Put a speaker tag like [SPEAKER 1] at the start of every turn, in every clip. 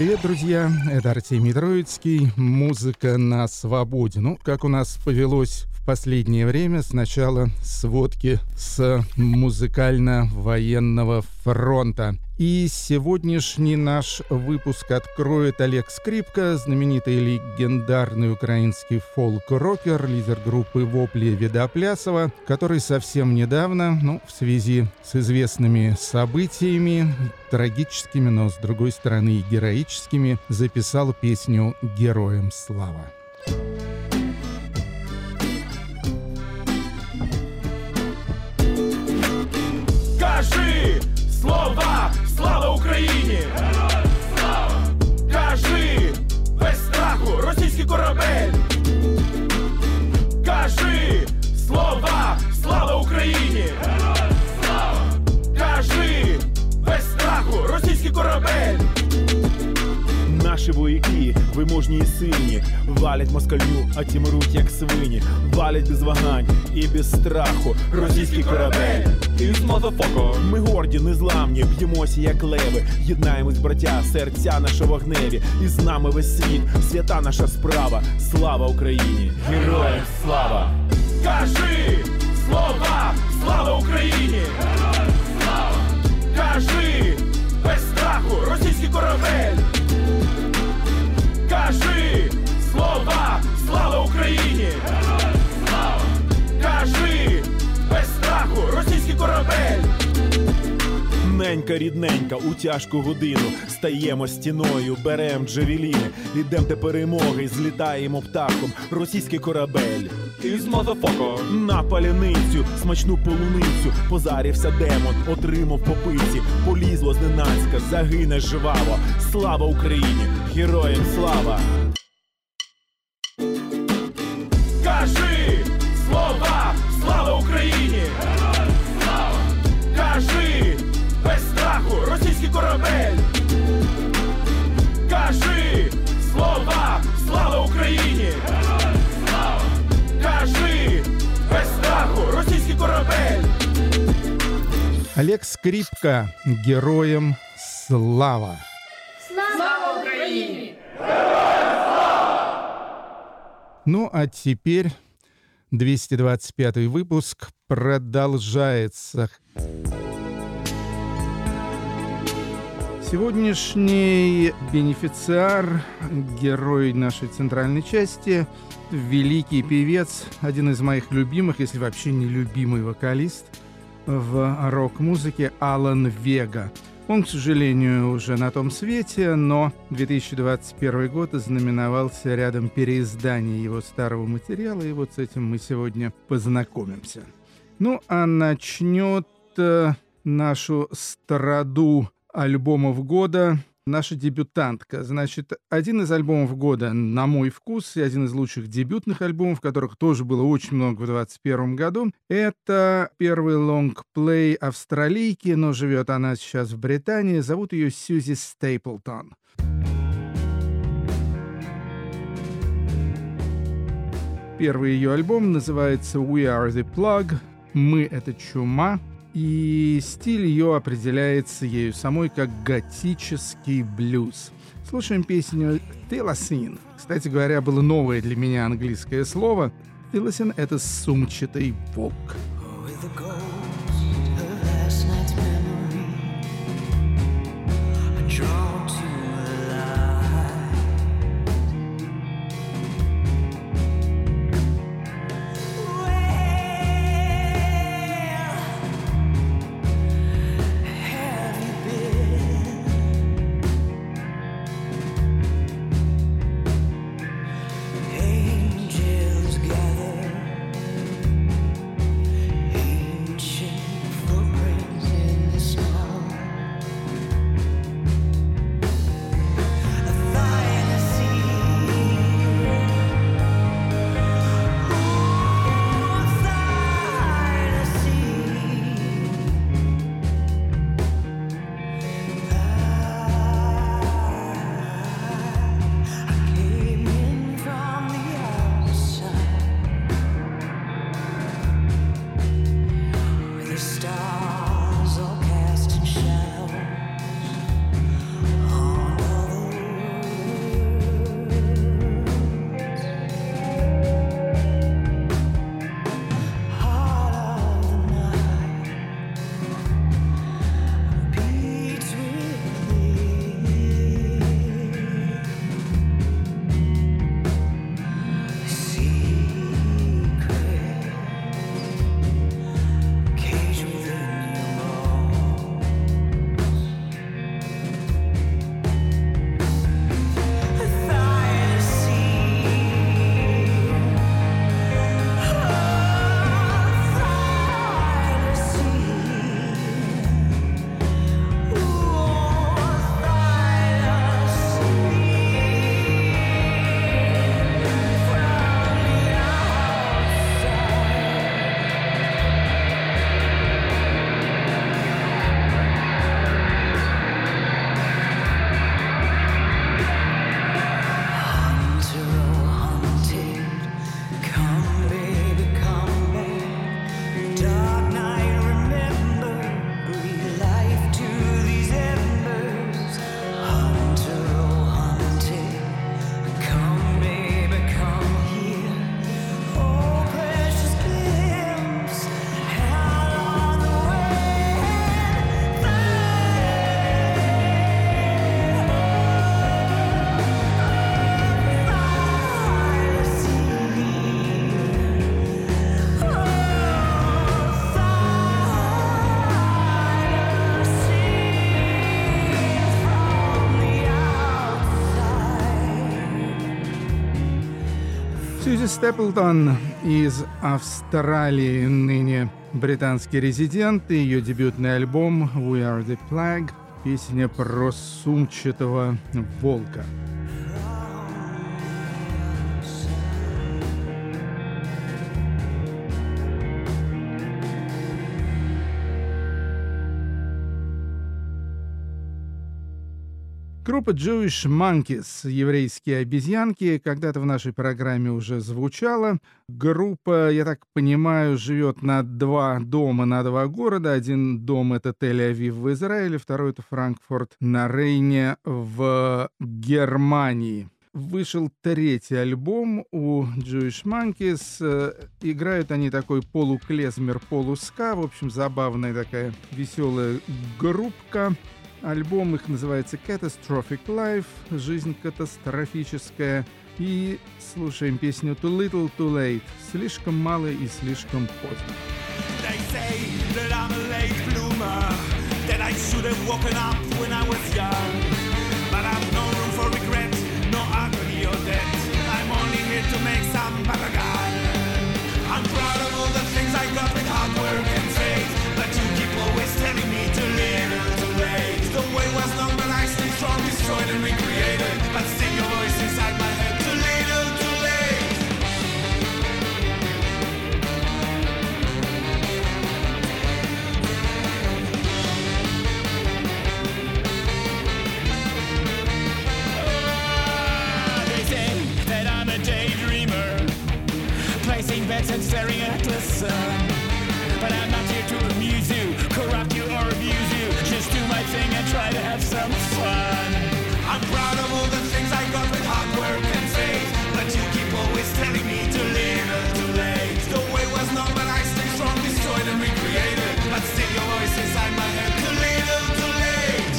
[SPEAKER 1] Привет, друзья! Это Артемий Троицкий. Музыка на свободе. Ну, как у нас повелось в последнее время, сначала сводки с музыкально-военного фронта. И сегодняшний наш выпуск откроет Олег Скрипка, знаменитый легендарный украинский фолк-рокер, лидер группы «Вопли» Видоплясова, который совсем недавно, в связи с известными событиями, трагическими, но с другой стороны и героическими, записал песню «Героям слава».
[SPEAKER 2] Кажи слова, слава Україні! Героям слава! Кажи без страху, російський корабель! Кажи слова, слава Україні! Героям слава! Кажи без страху, російський корабель!
[SPEAKER 3] Наші вояки, виможні і сильні, валять москалю, а ті мруть як свині. Валять без вагань і без страху російський корабель. Ми горді, незламні, б'ємося як леви. Єднаємось, браття, серця наші вогневі. І з нами весь світ, свята наша справа. Слава Україні! Героям слава!
[SPEAKER 2] Кажи слова, слава Україні! Героям слава! Кажи без страху, російський корабель! Кажи слова, слава Україні! Героям слава! Кажи без страху, російський корабель!
[SPEAKER 3] Ненька, рідненька, у тяжку годину стаємо стіною, берем джавеліни, ідем до перемоги, злітаємо птахом, російський корабель. На паляницю, смачну полуницю, позарівся демон, отримав по пиці, полізло зненацька, загине жваво. Слава Україні! Героям слава!
[SPEAKER 2] Кажи слова, слава Україні! Героям слава! Кажи без страху, російський корабель! Кажи слова, слава Україні! Героям слава! Кажи без страху, російський корабель!
[SPEAKER 1] Олег Скрипка, «Героям слава».
[SPEAKER 4] Слава Украине!
[SPEAKER 1] Ну, а теперь 225 выпуск продолжается. Сегодняшний бенефициар, герой нашей центральной части, великий певец, один из моих любимых, если вообще не любимый вокалист в рок-музыке, Алан Вега. Он, к сожалению, уже на том свете, но 2021 год ознаменовался рядом переизданий его старого материала, и вот с этим мы сегодня познакомимся. Ну, а начнет нашу страду альбомов года наша дебютантка. Значит, один из альбомов года, на мой вкус, и один из лучших дебютных альбомов, которых тоже было очень много в 2021 году, это первый лонгплей австралийки, но живет она сейчас в Британии. Зовут ее Сьюзи Стейплтон. Первый ее альбом называется «We Are The Plug», «Мы — это чума», и стиль ее определяется ею самой как готический блюз. Слушаем песню «Thylacine». Кстати говоря, было новое для меня английское слово. «Thylacine» — это сумчатый волк. Сьюзи Степлтон из Австралии, ныне британский резидент, и ее дебютный альбом «We Are The Plague», песня про сумчатого волка. Группа Jewish Monkeys, еврейские обезьянки, когда-то в нашей программе уже звучала. Группа, я так понимаю, живет на два дома, на два города. Один дом — это Тель-Авив в Израиле, второй — это Франкфурт на Рейне в Германии. Вышел третий альбом у Jewish Monkeys. Играют они такой полуклезмер, полуска. В общем, забавная такая веселая группка. Альбом их называется Catastrophic Life, жизнь катастрофическая. И слушаем песню Too Little Too Late, слишком мало и слишком поздно.
[SPEAKER 2] They say that I'm a late bloomer, that I should have woken up when I was young. But I've no room for regret, no agony or debt. I'm only here to make some balagan. I'm proud of all the things I got with hard work and faith, but you keep always telling me too little too late. The way was long, but I stay strong, destroyed and recreated. But still your voice inside my head, too little too late. They say that I'm a daydreamer, placing bets and staring at the sun. But I'm not here to amuse you, corrupt you or abuse you. Just do my thing and try to have some fun. I'm proud of all the things I got with hard work and faith, but you keep always telling me too little too late. The way was long, but I stay strong, destroyed and recreated. But still your voice inside my head, too little too late.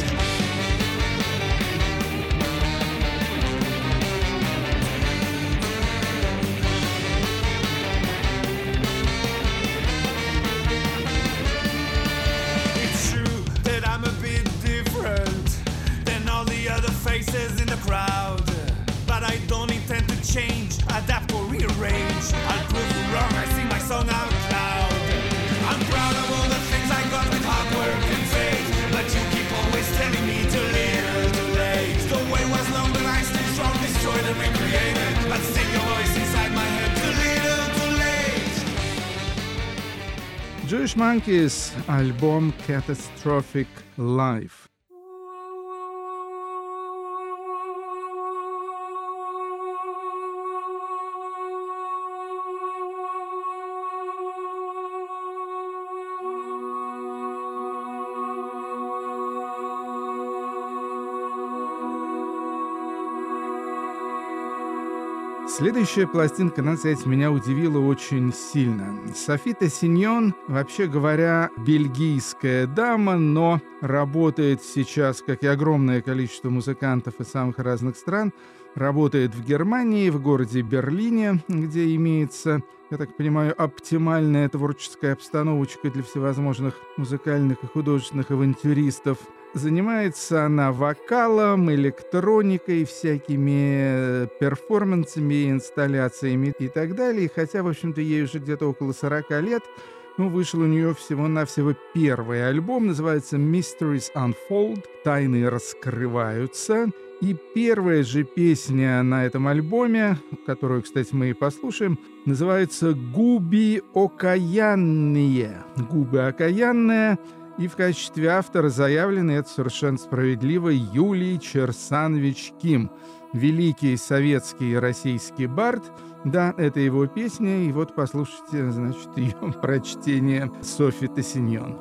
[SPEAKER 2] Faces in the crowd, but I don't intend to change, adapt or rearrange. I'll prove you wrong, I sing my song out loud. I'm proud of all the things I got with hard work and faith, but you keep always telling me too little too late. The way was long, but I stay strong, destroyed and recreated. But still your voice inside my head, too little too late.
[SPEAKER 1] Jewish Monkeys, альбом Catastrophic Life. Следующая пластинка, надо сказать, меня удивила очень сильно. Софи Тессиньон, вообще говоря, бельгийская дама, но работает сейчас, как и огромное количество музыкантов из самых разных стран, работает в Германии, в городе Берлине, где имеется, я так понимаю, оптимальная творческая обстановочка для всевозможных музыкальных и художественных авантюристов. Занимается она вокалом, электроникой, всякими перформансами, инсталляциями и так далее. И хотя, в общем-то, ей уже где-то около 40 лет, вышел у нее всего-навсего первый альбом, называется «Mysteries Unfold», «Тайны раскрываются». И первая же песня на этом альбоме, которую, кстати, мы и послушаем, называется «Губи окаянные». «Губы окаянные». И в качестве автора заявлен, это совершенно справедливо, Юлий Черсанович Ким, великий советский и российский бард. Да, это его песня, и вот послушайте, значит, ее прочтение Софи Тессиньон.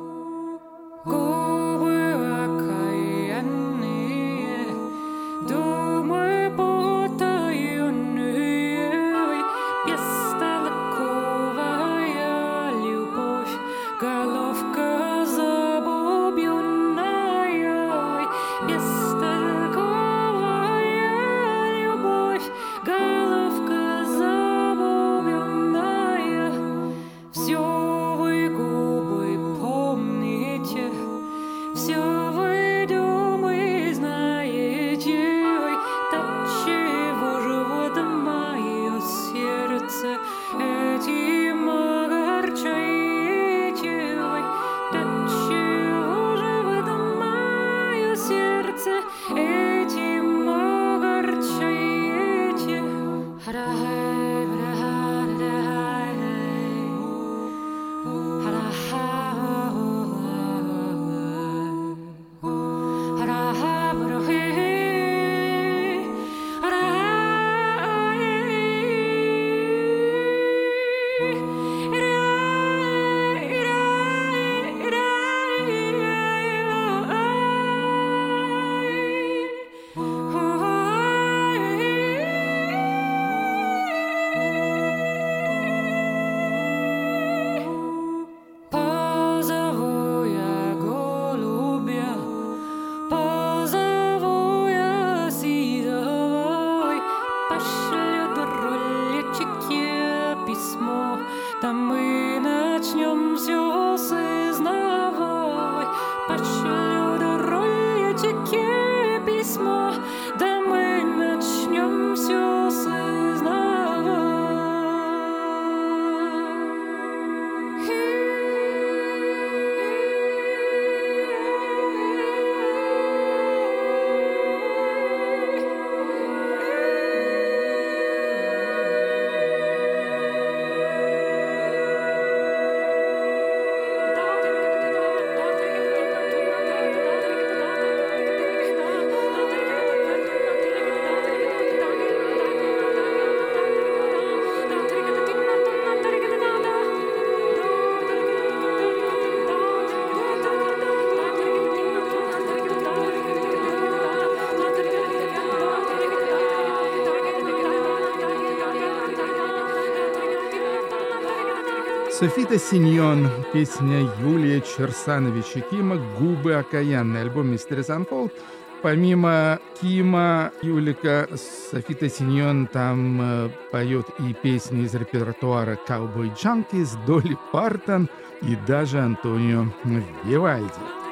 [SPEAKER 1] Софита Синьон, песня Юлия Черсановича Кима «Губы окаянные», альбом «Mysteries Unfold». Помимо Кима, Юлика, Софита Синьон там поет и песни из репертуара «Cowboy Junkies», Долли Партон и даже Антонио Вивальди.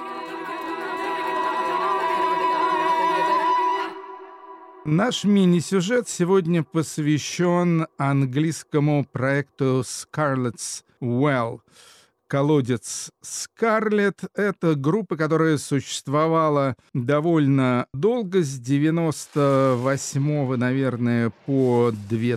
[SPEAKER 1] Наш мини-сюжет сегодня посвящен английскому проекту Scarlet's Well. Колодец Скарлетт — это группа, которая существовала довольно долго, с 98-го, наверное, по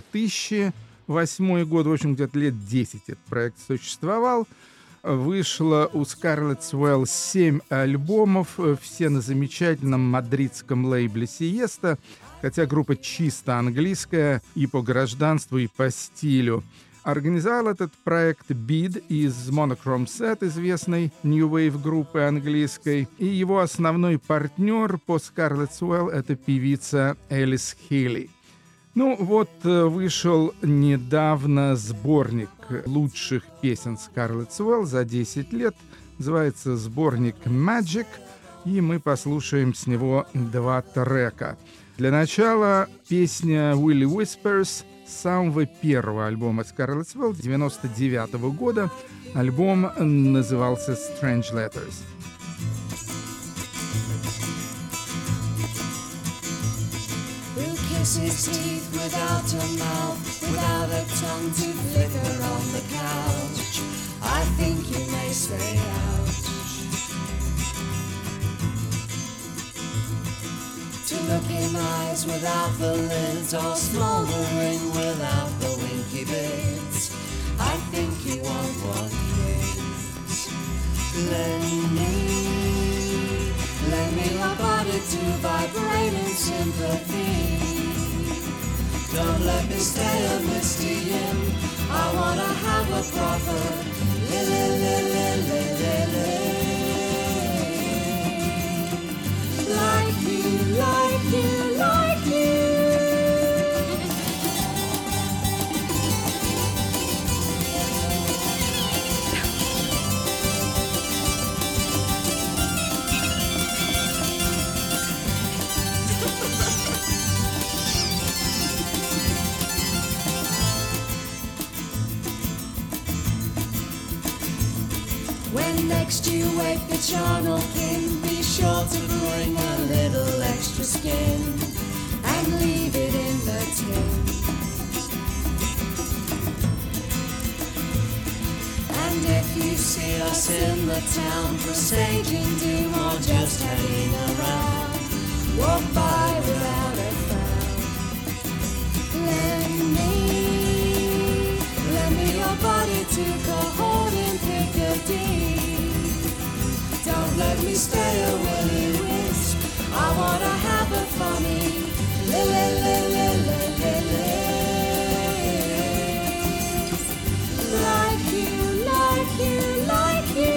[SPEAKER 1] 2008 год. В общем, где-то лет 10 этот проект существовал. Вышло у Scarlet's Well 7 альбомов, все на замечательном мадридском лейбле Siesta, хотя группа чисто английская и по гражданству, и по стилю. Организовал этот проект Bid из Monochrome Set, известной New Wave группы английской, и его основной партнер по Scarlet's Well — это певица Элис Хилли. Ну вот, вышел недавно сборник лучших песен Scarlet's Well за 10 лет, называется сборник Magic, и мы послушаем с него 2 трека. Для начала песня Willie Whispers с самого первого альбома Scarlet's Well 99-го года. Альбом назывался Strange Letters.
[SPEAKER 5] Who kisses teeth without a mouth, without a tongue to flicker on the couch? I think you may stay out. To look in eyes without the lids, or smouldering without the winky bits. I think you want one kiss. Lend me your body to vibrate in sympathy. Don't let me stay a misty in. I wanna have a proper like you, like you, like you. When next you wake the charnel king, be sure to bring a little extra skin and leave it in the tin. And if you see us in the town presaging doom or just hanging around, walk by without a frown. Lend me your body to cohort in Piccadilly. Don't let me stay a willy wisp. I wanna have a funny like you, like you, like you.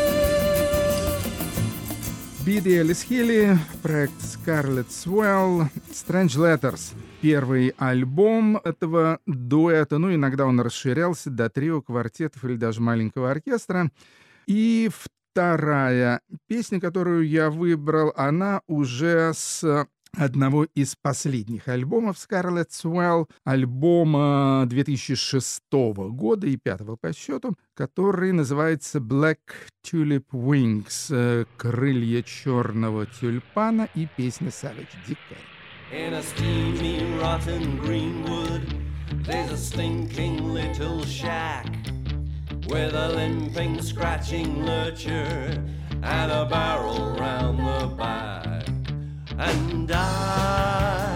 [SPEAKER 1] Bid и Элис Хилли, проект Scarlet's Well, Strange Letters. Первый альбом этого дуэта, ну, иногда он расширялся до трио, квартетов или даже маленького оркестра. И вторая песня, которую я выбрал, она уже с одного из последних альбомов Scarlet's Well, альбома 2006 года и 5-го по счету, который называется Black Tulip Wings, крылья черного тюльпана, и песня Savage Decay.
[SPEAKER 6] In a steamy, rotten greenwood, there's a stinking little shack with a limping, scratching lurcher and a barrel round the back. And I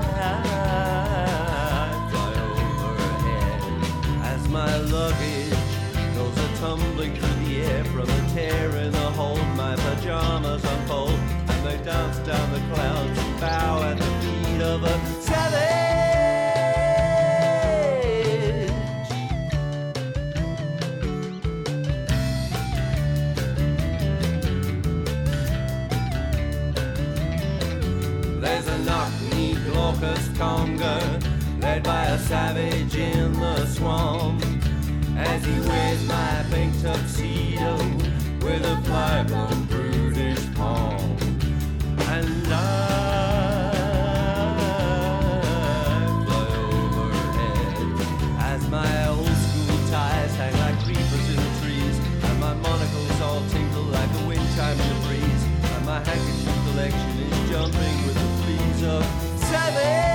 [SPEAKER 6] fly overhead as my luggage goes a-tumbling through the air from a tear in the hold. My pajamas unfold and they dance down the clouds and bow at the feet of a savage. There's a knock-knee Glaucus conga led by a savage in the swamp. As He wears my pink tuxedo with a fly-blown brutish palm. And I fly overhead as my old school ties hang like creepers in the trees, and my monocles all tinkle like the wind chimes in the breeze, and my handkerchief collection is jumping with the fleas of savage.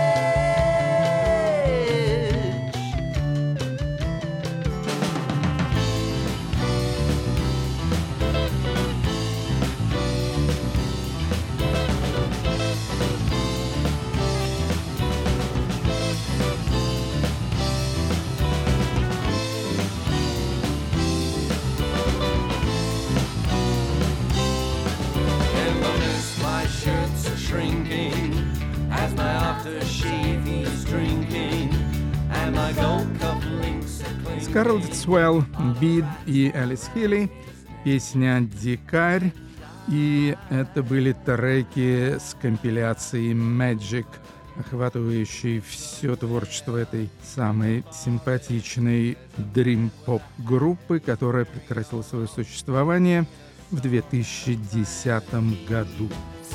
[SPEAKER 1] Скарлетт Свелл, Бид и Элис Хилли, песня «Дикарь». И это были треки с компиляции Magic, охватывающей все творчество этой самой симпатичной дрим-поп-группы, которая прекратила свое существование в 2010 году.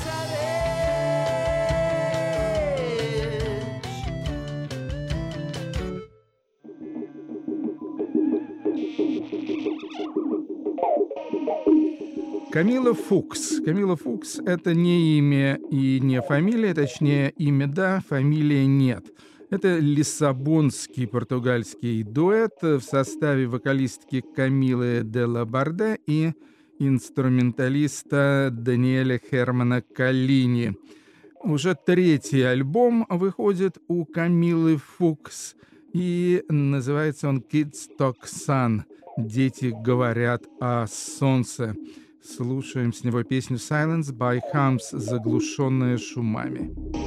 [SPEAKER 1] Камила Фукс. Камила Фукс — это не имя и не фамилия, точнее, имя да, фамилия нет. Это лиссабонский португальский дуэт в составе вокалистки Камилы де ла Барде и инструменталиста Даниэля Хермана Коллини. Уже третий альбом выходит у Камилы Фукс, и называется он «Kids Talk Sun». «Дети говорят о солнце». Слушаем с него песню «Silence by Hums», заглушенная шумами.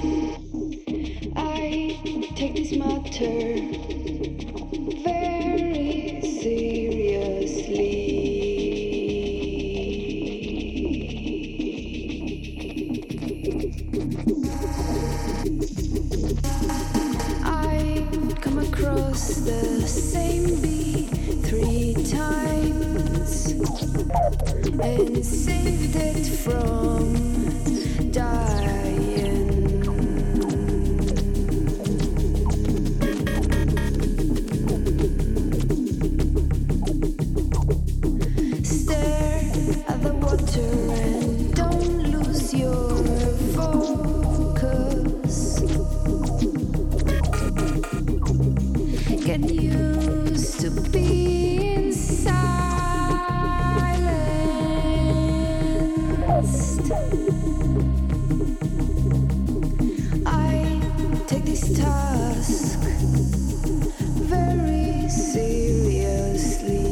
[SPEAKER 7] I take this matter very seriously. I come across the same beat 3 times and saved it from dying. Stare at the water and don't lose your focus. Get used to being silenced. I take this task very seriously.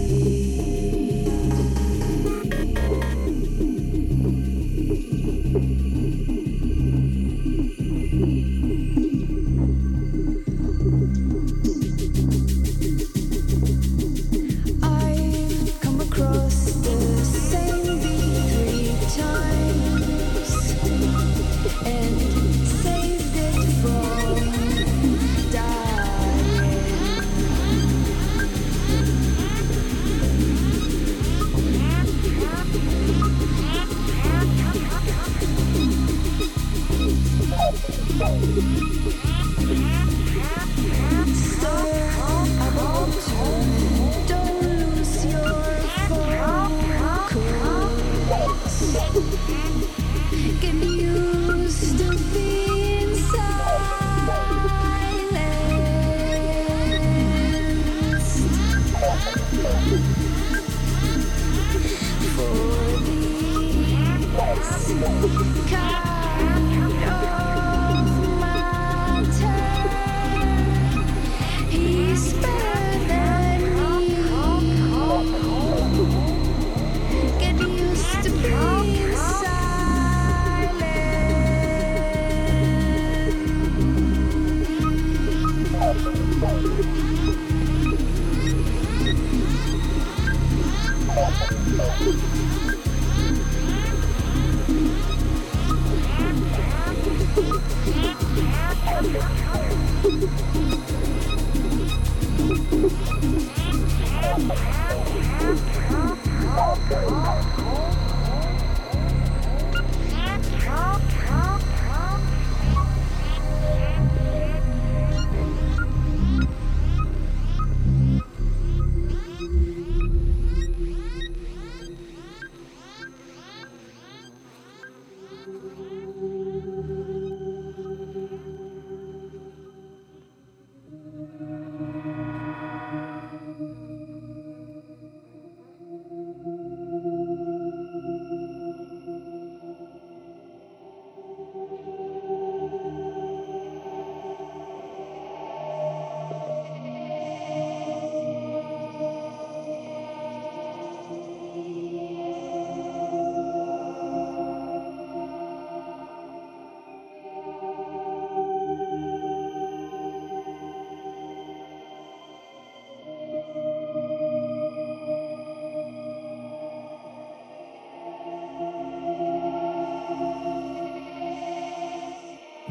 [SPEAKER 7] I've come across the same beat 3 times and saved it from dying. Stare at the water and don't lose your focus. Get used to being silenced. For this kind of matter, he's better than me. Get used to being silent.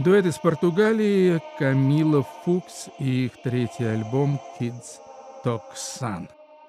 [SPEAKER 1] Дуэт из Португалии Камила Фукс и их третий альбом Kids Talk Sun.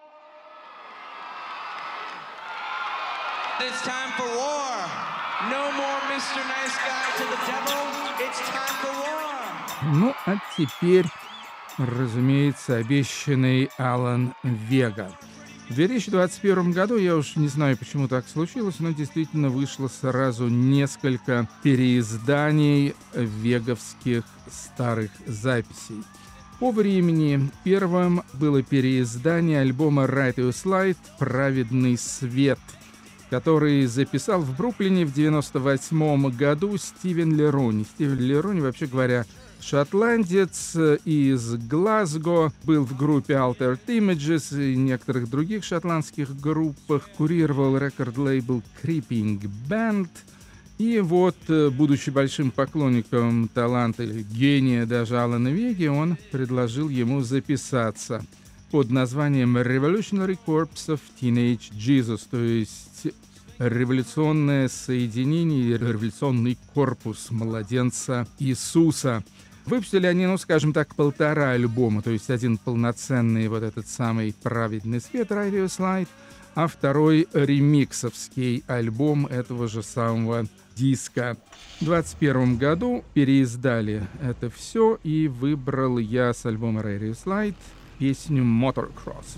[SPEAKER 8] It's time for war. No more Mr. Nice Guy to the devil. It's time for war.
[SPEAKER 1] Ну, а теперь, разумеется, обещанный Алан Вега. В 2021 году, я уж не знаю, почему так случилось, но действительно вышло сразу несколько переизданий веговских старых записей. По времени первым было переиздание альбома Righteous Light «Праведный свет», который записал в Бруклине в 1998 году Стивен Леруни. Стивен Леруни, вообще говоря, шотландец из Глазго, был в группе Altered Images и некоторых других шотландских группах, курировал рекорд-лейбл Creeping Band. И вот, будучи большим поклонником таланта или гения даже Алана Веги, он предложил ему записаться под названием Revolutionary Corps of Teenage Jesus, то есть революционное соединение, революционный корпус младенца Иисуса. Выпустили они, ну, скажем так, 1,5 альбома, то есть один полноценный вот этот самый «Праведный свет» Righteous Light, а второй ремиксовский альбом этого же самого диска. В 2021 году переиздали это все, и выбрал я с альбома Righteous Light песню «Motocross».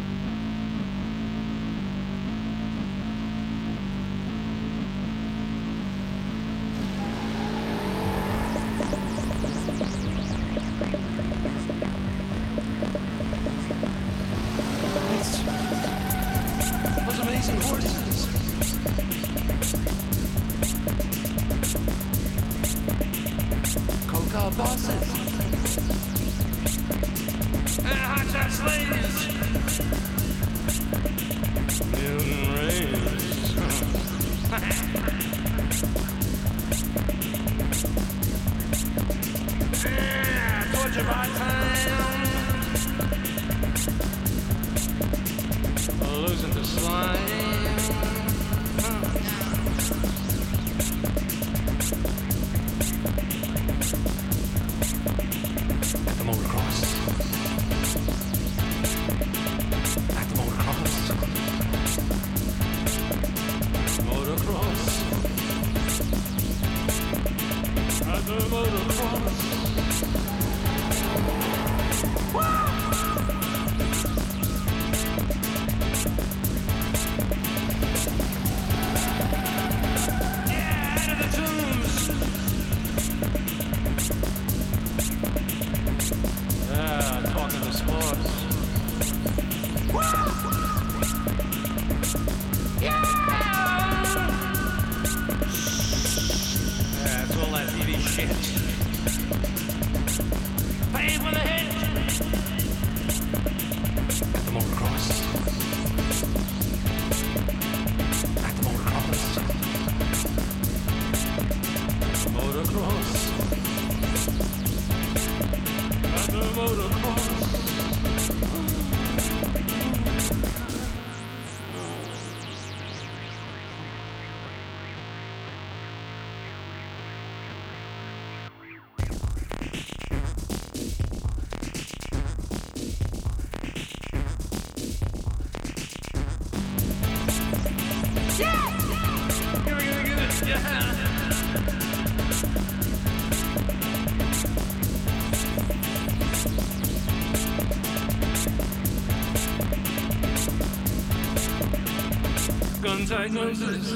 [SPEAKER 2] Gun-tight noses,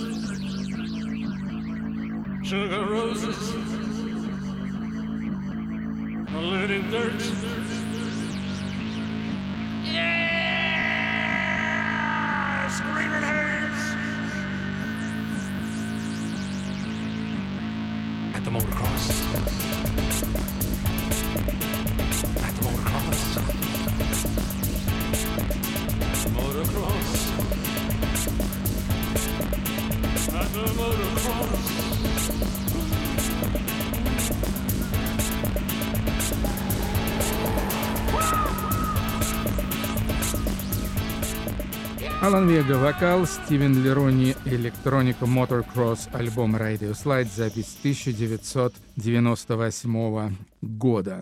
[SPEAKER 2] sugar roses, polluting dirt. Yeah, screaming hares at the motocross. At the motocross. Motocross. At the motocross. Yeah!
[SPEAKER 1] Алан Вега вокал, Стивен Лерони электроника, Motocross, альбом Radio Slide, запись 1998 года.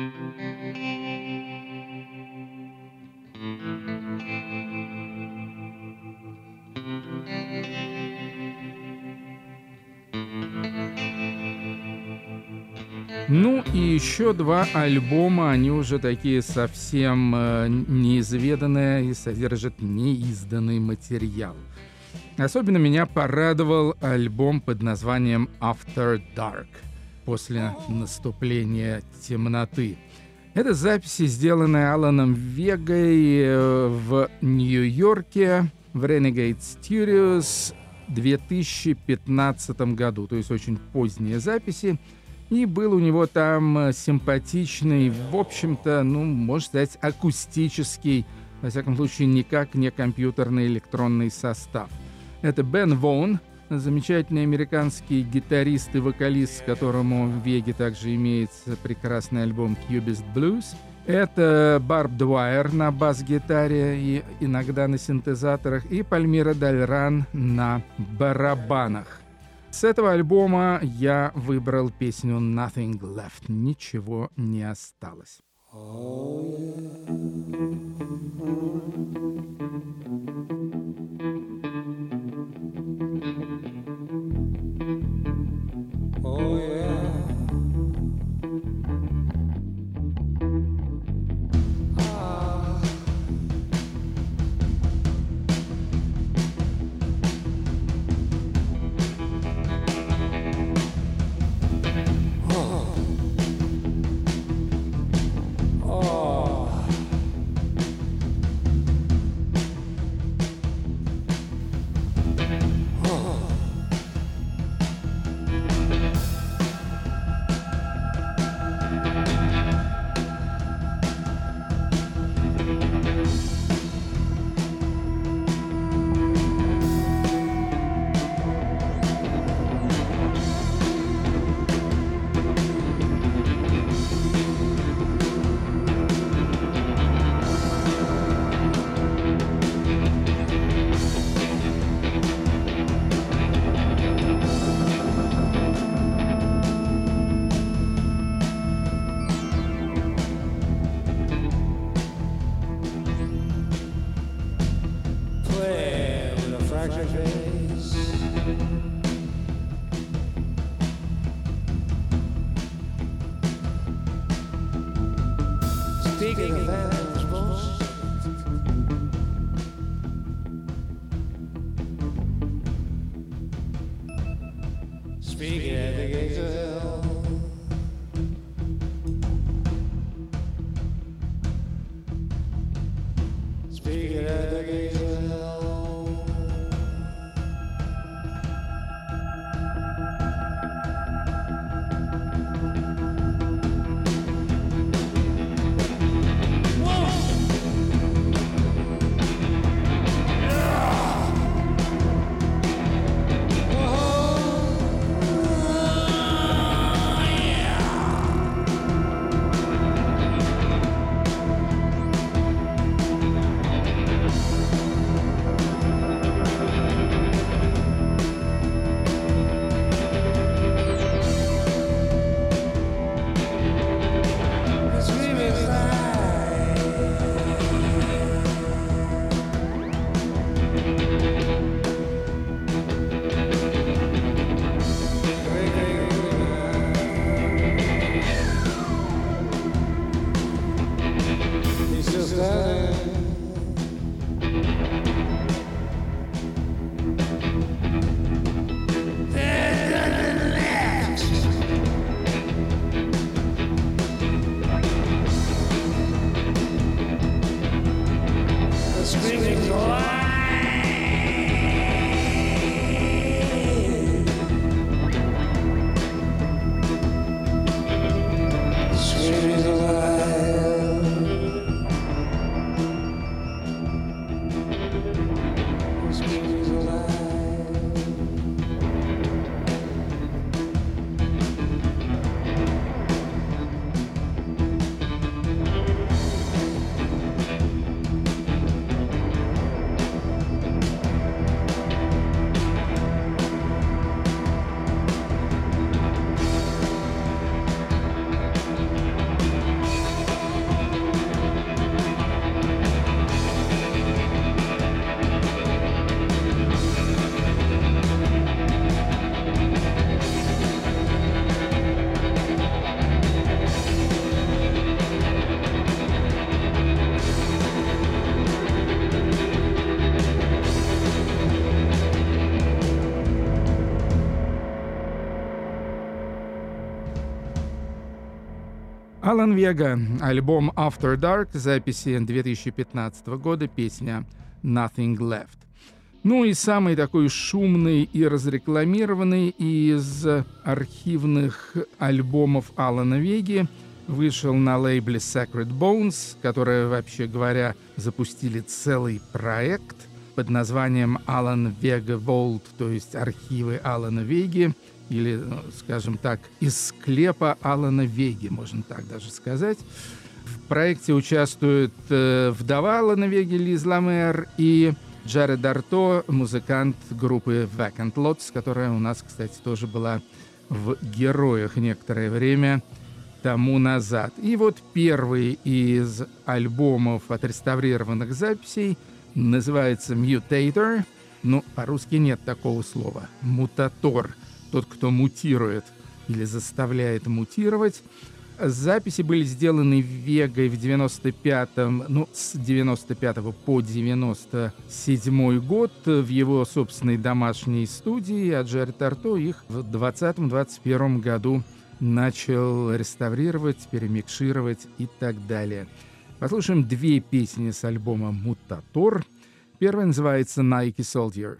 [SPEAKER 1] Ну и еще два альбома, они уже такие совсем неизведанные и содержат неизданный материал. Особенно меня порадовал альбом под названием After Dark, после наступления темноты. Это записи, сделанные Аланом Вегой в Нью-Йорке в Renegade Studios в 2015 году, то есть очень поздние записи. И был у него там симпатичный, в общем-то, можно сказать, акустический, во всяком случае, никак не компьютерный электронный состав. Это Бен Вон, замечательный американский гитарист и вокалист, с которым в Веге также имеется прекрасный альбом Cubist Blues. Это Барб Дуайер на бас-гитаре и иногда на синтезаторах, и Пальмира Дальран на барабанах. С этого альбома я выбрал песню «Nothing Left», «Ничего не осталось».
[SPEAKER 5] Speaking of animals, speaking at the gates of hell, speaking at the gates of hell.
[SPEAKER 1] Алан Вега, альбом After Dark, записи 2015 года, песня Nothing Left. Ну и самый такой шумный и разрекламированный из архивных альбомов Алана Веги вышел на лейбле Sacred Bones, которые, вообще говоря, запустили целый проект под названием Alan Vega Vault, то есть архивы Алана Веги, или, скажем так, из склепа Алана Веги, можно так даже сказать. В проекте участвуют вдова Алана Веги Лиз Ламер и Джаред Арто, музыкант группы Vacant Lots, которая у нас, кстати, тоже была в «Героях» некоторое время тому назад. И вот первый из альбомов отреставрированных записей называется «Mutator». Ну, по-русски нет такого слова. «Мутатор». Тот, кто мутирует или заставляет мутировать. Записи были сделаны Вегой в 95-м, с 95 по 97 год в его собственной домашней студии, а Джаред Арто их в 2020-2021 году начал реставрировать, перемикшировать и так далее. Послушаем две песни с альбома «Мутатор». Первая называется «Nike Soldier».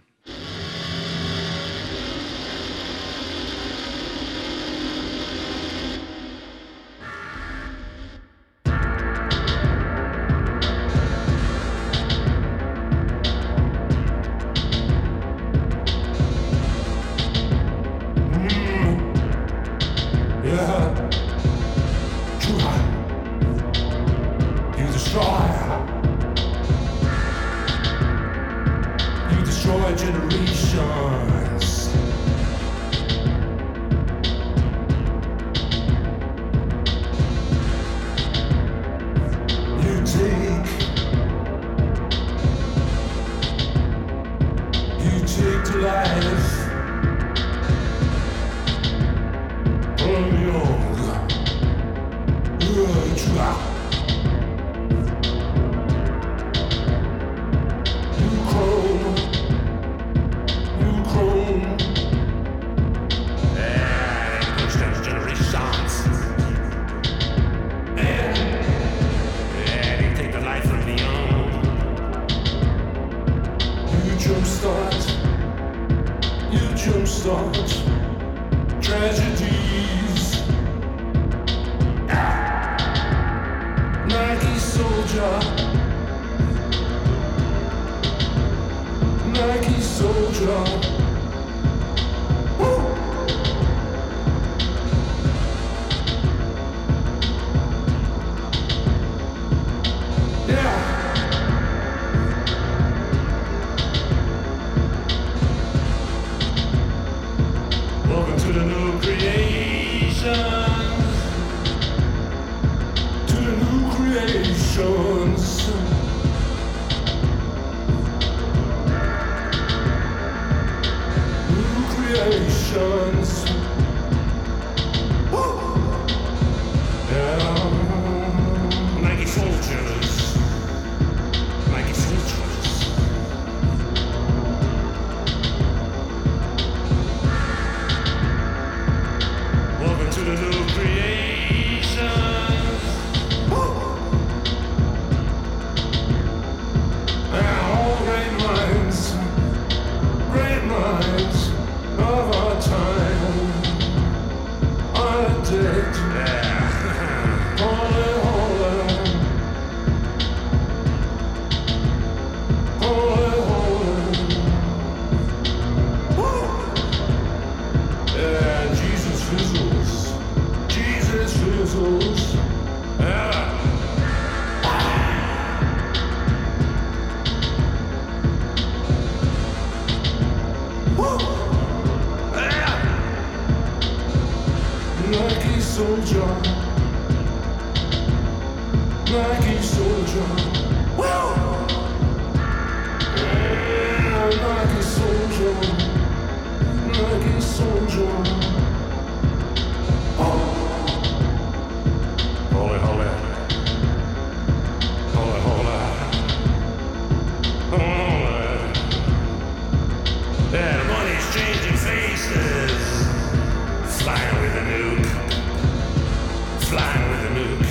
[SPEAKER 2] Flying with a nuke.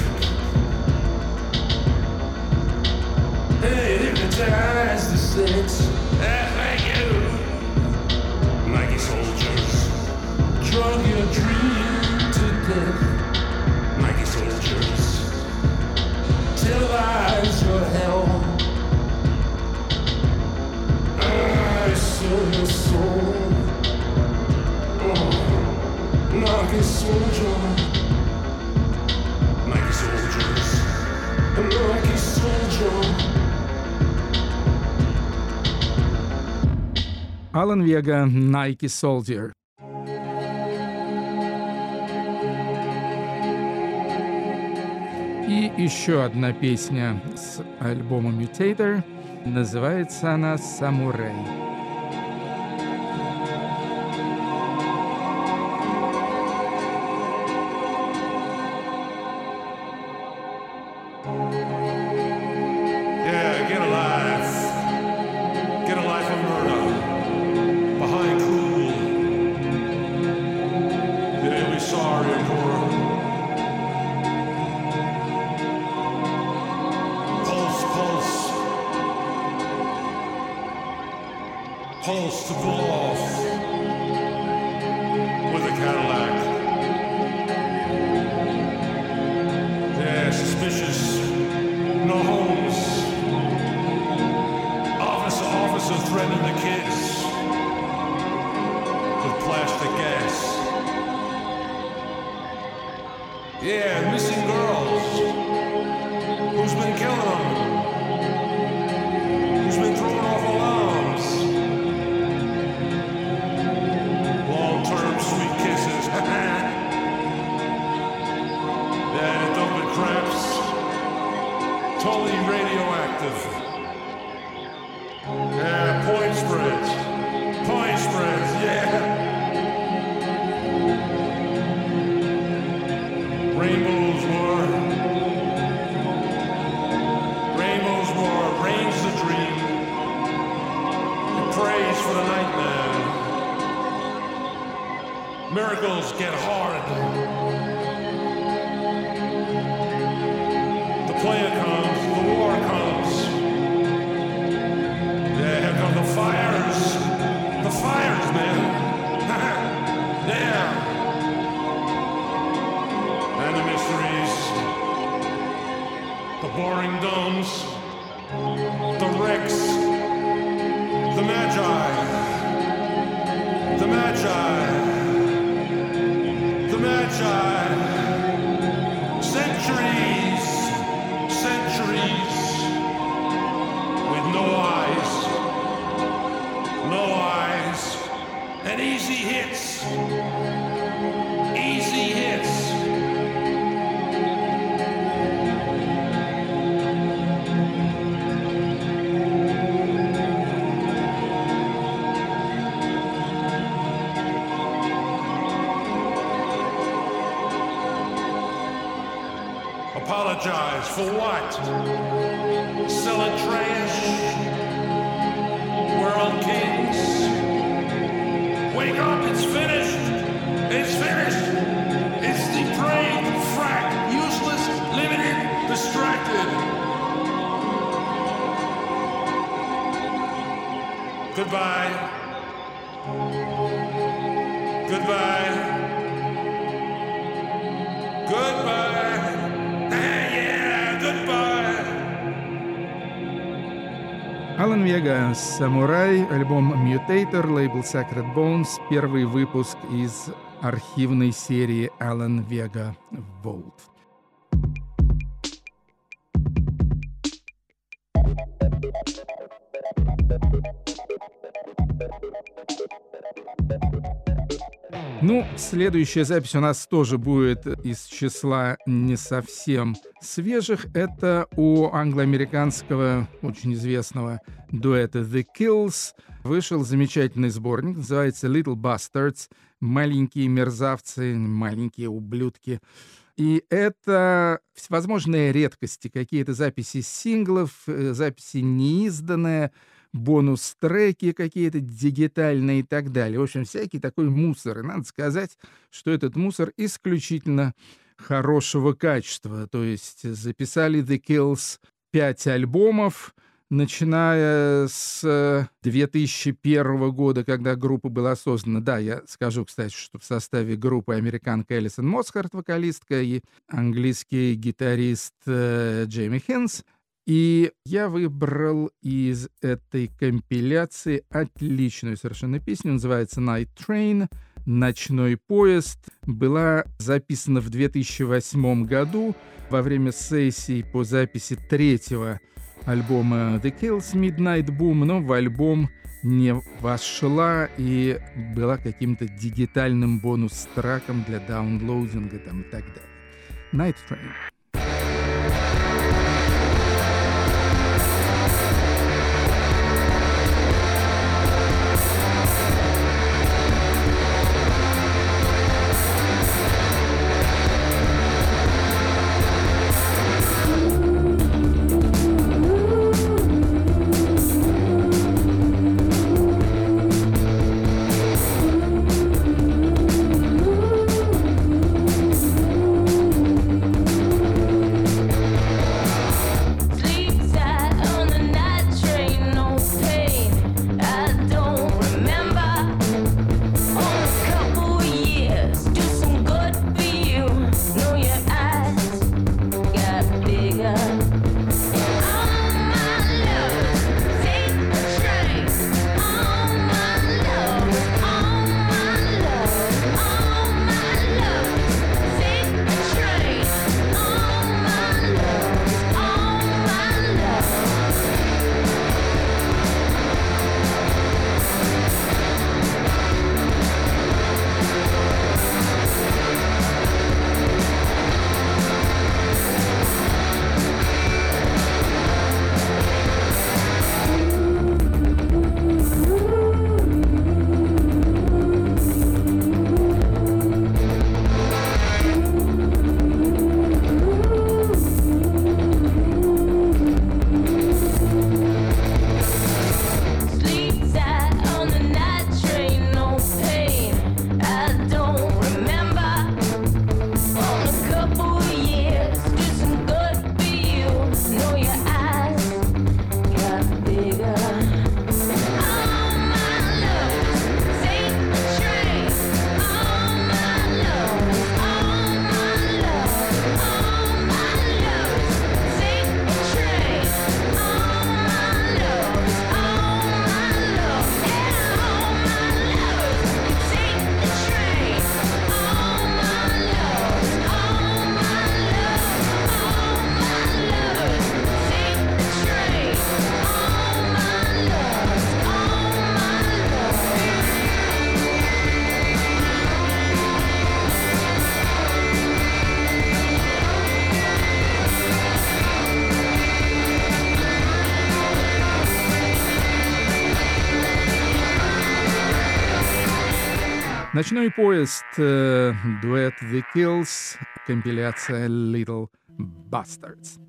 [SPEAKER 2] lyrics. Thank you. Nike soldiers, drug your dream to death. Nike soldiers, televise your hell. I sell your soul. Oh, Nike soldier, Nike soldiers, Nike soldier.
[SPEAKER 1] Алан Вега, Nike Soldier. И еще одна песня с альбома Mutator. Называется она «Самурай».
[SPEAKER 2] Pulse to pull off with a Cadillac. Yeah, suspicious. No homes. Officer threatening the kids with plastic gas. Yeah, missing girls. Who's been killing them? Who's been throwing off alarms? Long-term sweet kisses. Yeah, dumping craps. Totally radioactive. Yeah, point spreads. Point spreads, yeah. Rainbows war. Rainbows war. Rain's the dream. It prays for the nightmare. Miracles get hard. The player comes, the war comes. Yeah, here come the fires. The fires, man. Yeah. And the mysteries. The boring domes. The wrecks. The magi. The magi. The magi. Centuries. Centuries. With no eyes. No eyes. And easy hits. Easy hits. Apologize for what? Selling trash? We're on Kings. Wake up, it's finished. It's finished. It's depraved, frack, useless, limited, distracted. Goodbye. Goodbye. Goodbye. Yeah, goodbye.
[SPEAKER 1] Алан Вега, «Самурай», альбом Mutator, лейбл Sacred Bones, первый выпуск из архивной серии Алан Вега Vault. Ну, следующая запись у нас тоже будет из числа не совсем свежих. Это у англо-американского, очень известного дуэта The Kills вышел замечательный сборник, называется Little Bastards, маленькие мерзавцы, маленькие ублюдки. И это всевозможные редкости, какие-то записи синглов, записи неизданные, бонус-треки какие-то дигитальные и так далее. В общем, всякий такой мусор. И надо сказать, что этот мусор исключительно хорошего качества. То есть записали The Kills 5 альбомов, начиная с 2001 года, когда группа была создана. Да, я скажу, кстати, что в составе группы американка Элисон Мосхарт, вокалистка, и английский гитарист Джейми Хинс. И я выбрал из этой компиляции отличную совершенно песню, называется «Night Train», «Ночной поезд». Была записана в 2008 году во время сессий по записи третьего альбома The Kills «Midnight Boom», но в альбом не вошла и была каким-то дигитальным бонус-треком для даунлоудинга там, и так далее. «Night Train». «Ночной поезд», дуэт The Kills, компиляция Little Bastards.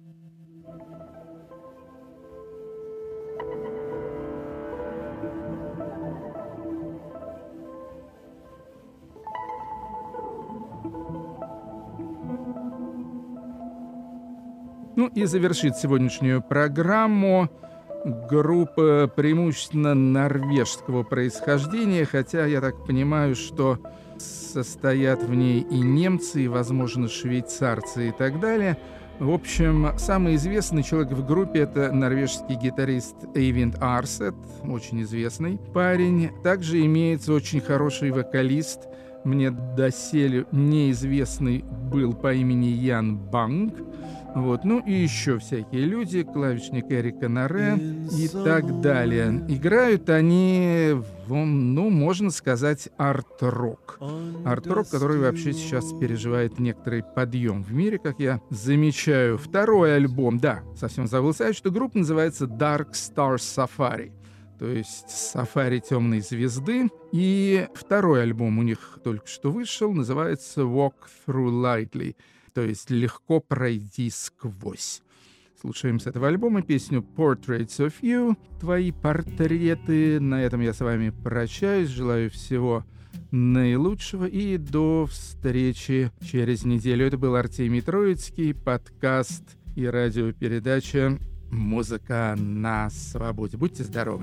[SPEAKER 1] Ну и завершит сегодняшнюю программу группа преимущественно норвежского происхождения, хотя я так понимаю, что состоят в ней и немцы, и, возможно, швейцарцы и так далее. В общем, самый известный человек в группе — это норвежский гитарист Эйвинд Арсет, очень известный парень. Также имеется очень хороший вокалист, мне доселе неизвестный был по имени Ян Банг. Вот. Ну и еще всякие люди, клавишник Эрика Наре и так далее. Играют они, ну, можно сказать, арт-рок. Арт-рок, который вообще сейчас переживает некоторый подъем в мире, как я замечаю. Второй альбом, да, совсем забыл сказать, что группа называется Dark Star Safari. То есть «Сафари темной звезды». И второй альбом у них только что вышел, называется «Walk Through Lightly», то есть «Легко пройти сквозь». Слушаем с этого альбома песню «Portraits of You», «Твои портреты». На этом я с вами прощаюсь, желаю всего наилучшего и до встречи через неделю. Это был Артемий Троицкий, подкаст и радиопередача Музыка на свободе. Будьте здоровы.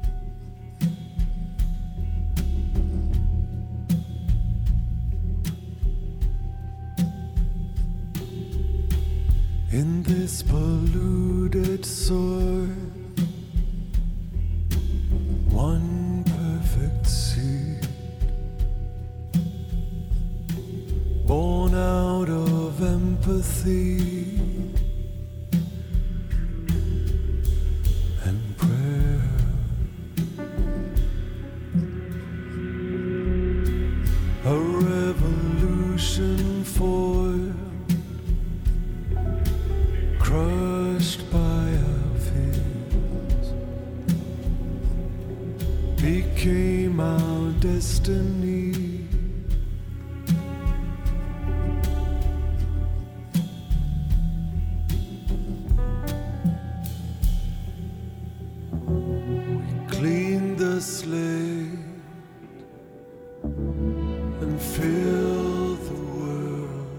[SPEAKER 5] In this polluted soil, one perfect seed, born out of empathy and prayer. A revolution foiled, crushed by our fears, became our destiny. We cleaned the slate and filled the world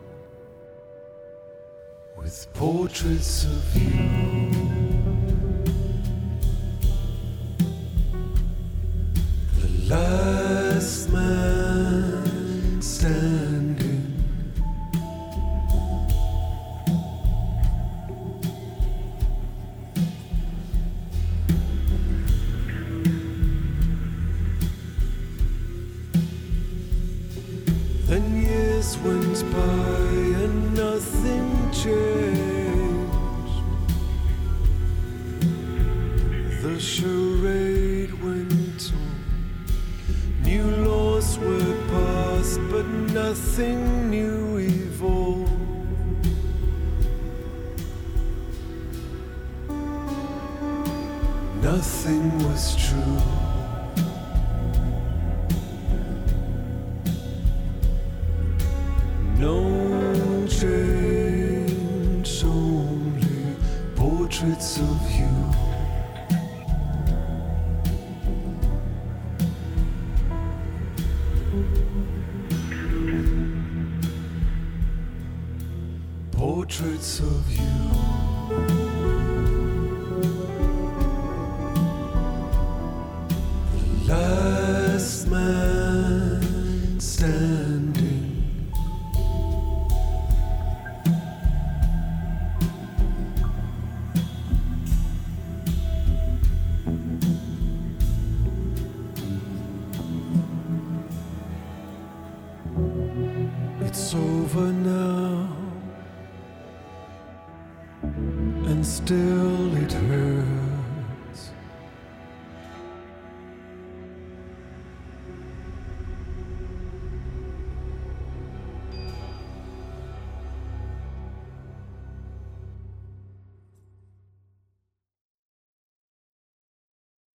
[SPEAKER 5] with portraits of you. The last man standing, then years went by and nothing changed. The charade went on. New laws were passed, but nothing new evolved. Nothing was true. No change, only portraits of you. Portraits of you. The last man standing. It's over now, and still